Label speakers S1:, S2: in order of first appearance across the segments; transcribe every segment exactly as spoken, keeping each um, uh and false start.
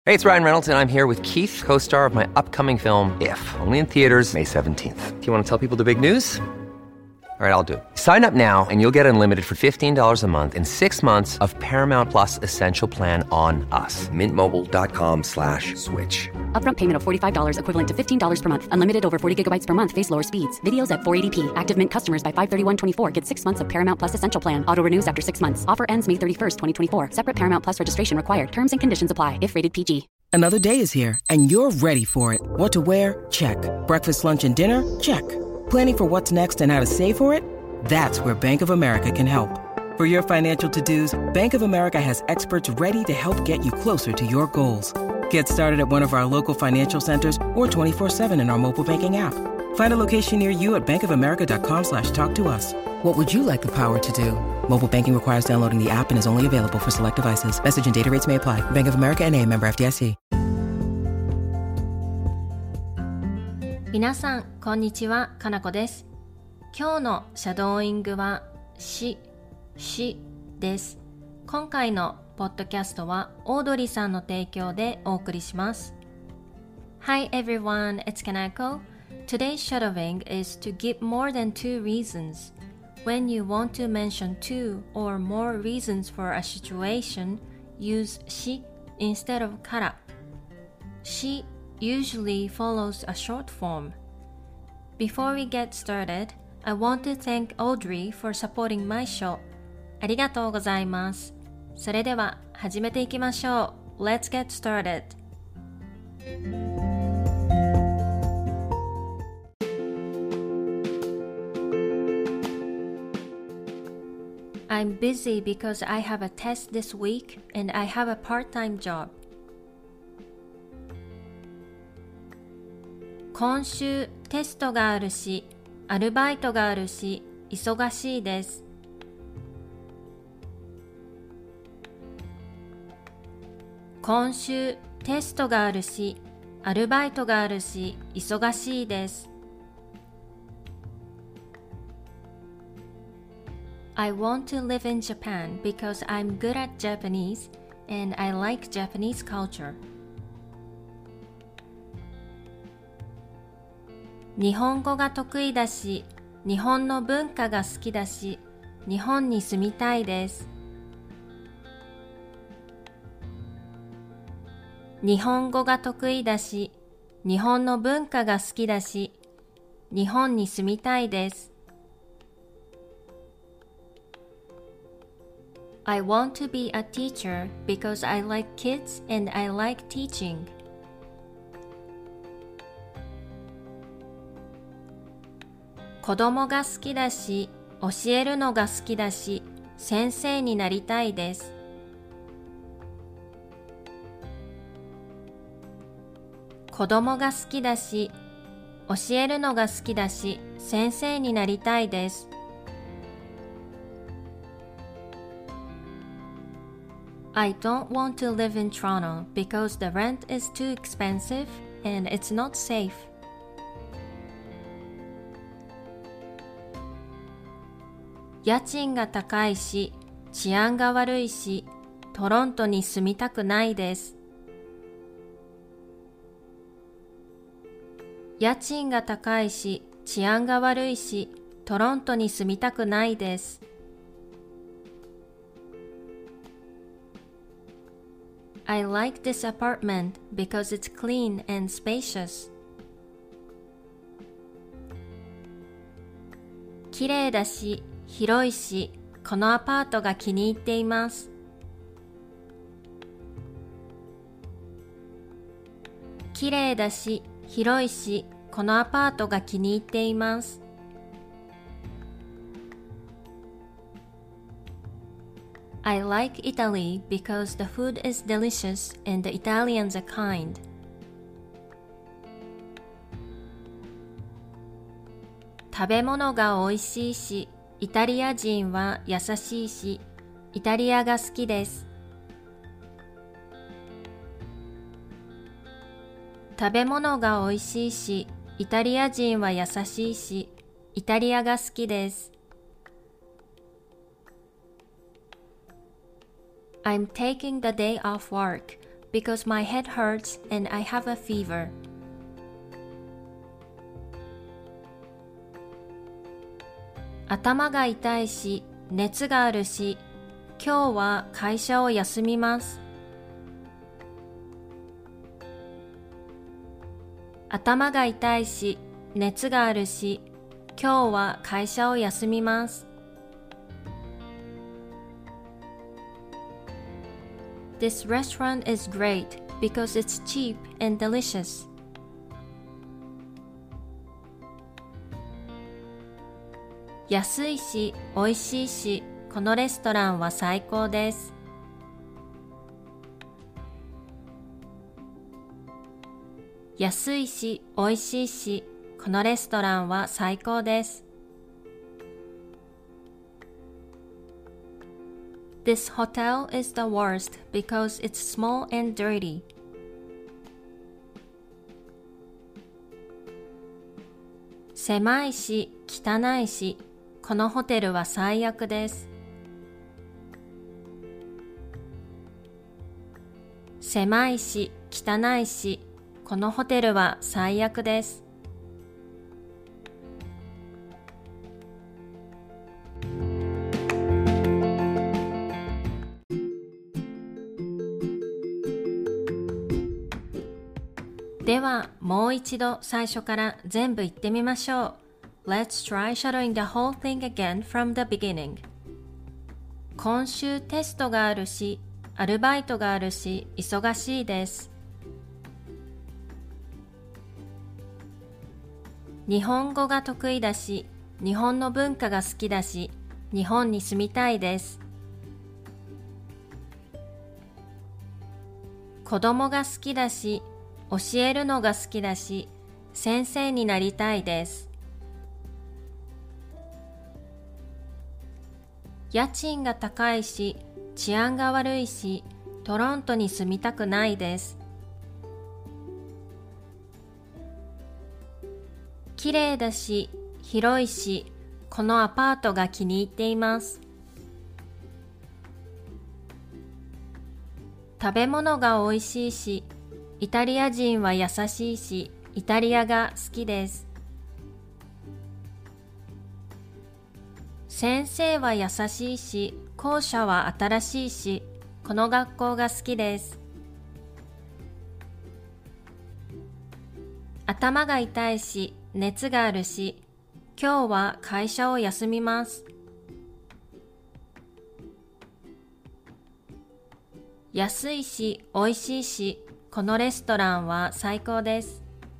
S1: Hey, it's Ryan Reynolds, and I'm here with Keith, co-star of my upcoming film, If, only in theaters May seventeenth. Do you want to tell people the big news? All right, I'll do it. Sign up now and you'll get unlimited for fifteen dollars a month and six months of Paramount Plus Essential Plan on us. Mint Mobile dot com slash switch.
S2: Upfront payment of forty-five dollars equivalent to fifteen dollars per month. Unlimited over forty gigabytes per month. Face lower speeds. Videos at four eighty p. Active Mint customers by five thirty-one twenty-four get six months of Paramount Plus Essential Plan. Auto renews after six months. Offer ends May thirty-first, twenty twenty-four. Separate Paramount Plus registration required. Terms and conditions apply if rated P G.
S3: Another day is here, and you're ready for it. What to wear? Check. Breakfast, lunch, and dinner? Check. Planning for what's next and how to save for it? That's where Bank of America can help. For your financial to-dos, Bank of America has experts ready to help get you closer to your goals. Get started at one of our local financial centers or twenty-four seven in our mobile banking app. Find a location near you at bankofamerica.com slash talk to us. What would you like the power to do? Mobile banking requires downloading the app and is only available for select devices. Message and data rates may apply. Bank of America N A, member F D I C.
S4: 皆さん、こんにちは。かなこです。今日のシャドーイングはし、しです。今回のポッドキャストはオードリーさんの提供でお送りします。Hi everyone, it's Kanako. Today's shadowing is to give more than two reasons. When you want to mention two or more reasons for a situation, use し instead of から。し usually follows a short form. Before we get started, I want to thank Audrey for supporting my show. ありがとうございます。それでは始めていきましょう。Let's get started. I'm busy because I have a test this week and I have a part-time job. 今週テストがあるし、アルバイトがあるし、忙しいです。今週テストがあるし、アルバイトがあるし、忙しいです。I want to live in Japan because I'm good at Japanese and I like Japanese culture. 日本語が得意だし、日本の文化が好きだし、日本に住みたいです。日本語が得意だし、日本の文化が好きだし、日本に住みたいです。I want to be a teacher because I like kids and I like teaching. 子供が好きだし、教えるのが好きだし、先生になりたいです。子供が好きだし、教えるのが好きだし、先生になりたいです。I don't want to live in Toronto because the rent is too expensive and it's not safe. 家賃が高いし、治安が悪いし、トロントに住みたくないです。家賃が高いし、治安が悪いし、トロントに住みたくないです。I like this apartment because it's clean and spacious. 綺麗だし、広いし、このアパートが気に入っています。綺麗だし、広いし、このアパートが気に入っています。I like Italy because the food is delicious and the Italians are kind. 食べ物が美味しいし、イタリア人は優しいし、イタリアが好きです。食べ物が美味しいし、イタリア人は優しいし、イタリアが好きです。I'm taking the day off work because my head hurts and I have a fever. 頭が痛いし、熱があるし、今日は会社を休みます。頭が痛いし、熱があるし、今日は会社を休みます。This restaurant is great because it's cheap and delicious. 安いし、美味しいし、このレストランは最高です。安いし、美味しいし、このレストランは最高です。This hotel is the worst because it's small and dirty. 狭いし、汚いし、このホテルは最悪です。狭いし、汚いし、このホテルは最悪です。では、もう一度最初から全部言ってみましょう。Let's try shadowing the whole thing again from the beginning. 今週テストがあるし、アルバイトがあるし、忙しいです。日本語が得意だし、日本の文化が好きだし、日本に住みたいです。子供が好きだし、教えるのが好きだし、先生になりたいです。家賃が高いし、治安が悪いし、トロントに住みたくないです。綺麗だし、広いし、このアパートが気に入っています。食べ物が美味しいし、イタリア人は優しいし、イタリアが好きです。先生は優しいし、校舎は新しいし、この学校が好きです。頭が痛いし、熱があるし、今日は会社を休みます。安いし、美味しいし、このレストランは最高です。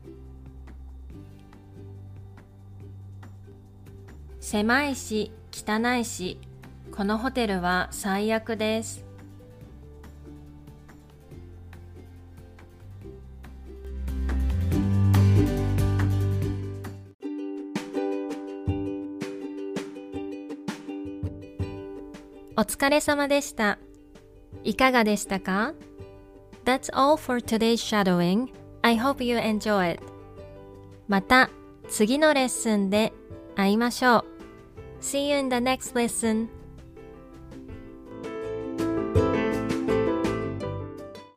S4: 狭いし、汚いし、このホテルは最悪です。お疲れ様でした。いかがでしたか？ That's all for today's shadowing. I hope you enjoy it. また次のレッスンで会いましょう。See you in the next lesson.